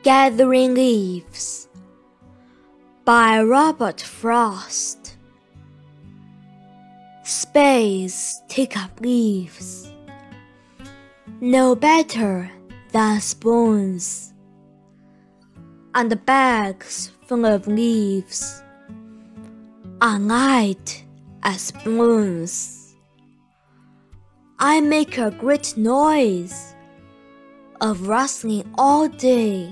Gathering Leaves by Robert Frost. Spades take up leaves, no better than spoons, and bags full of leaves are light as balloons. I make a great noise of rustling all day,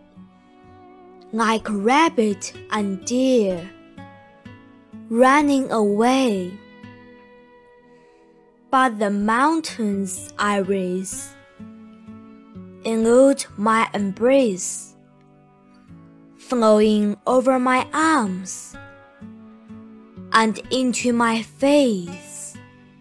like rabbit and deer running away. But the mountains I raise elude my embrace, flowing over my arms and into my face.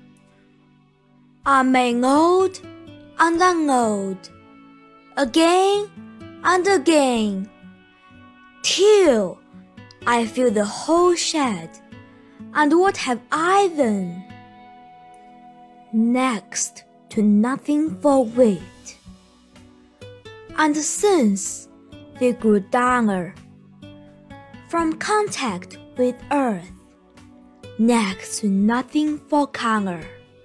I may load and unload again and again, till I fill the whole shed. And what have I then? Next to nothing for weight. And since they grew duller from contact with earth, next to nothing for color,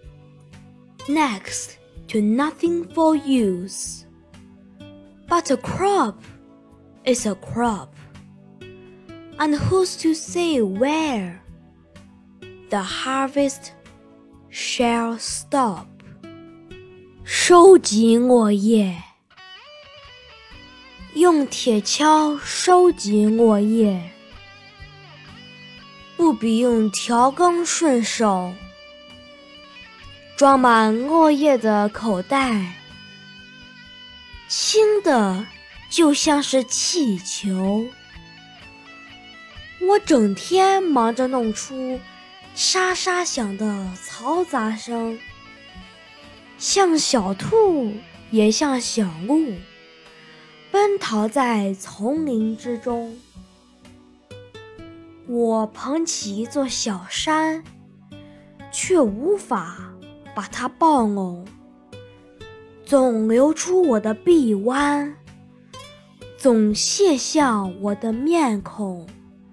next to nothing for use. But a crop is a crop, and who's to say where the harvest shall stop? 收集落叶，用铁锹收集落叶，不比用条羹顺手。装满落叶的口袋，轻的就像是气球。我整天忙着弄出沙沙响的嘈杂声，像小兔也像小鹿，奔逃在丛林之中。我捧起一座小山，却无法把它抱拢，总流出我的臂弯，总泻向我的面孔。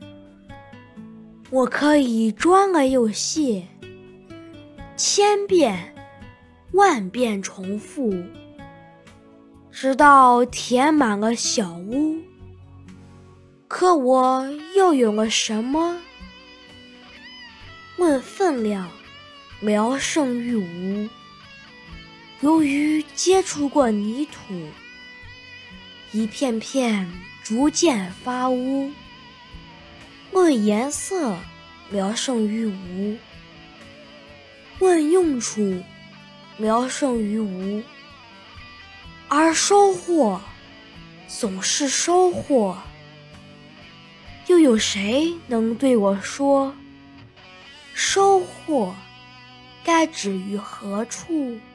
我可以装了又卸，千遍万遍重复，直到填满了小屋。可我又有了什么？论分量，聊胜于无。由于接触过泥土，一片片逐渐发乌。论颜色，聊胜于无。论用处，聊胜于无。而收获，总是收获。又有谁能对我说，收获该止于何处？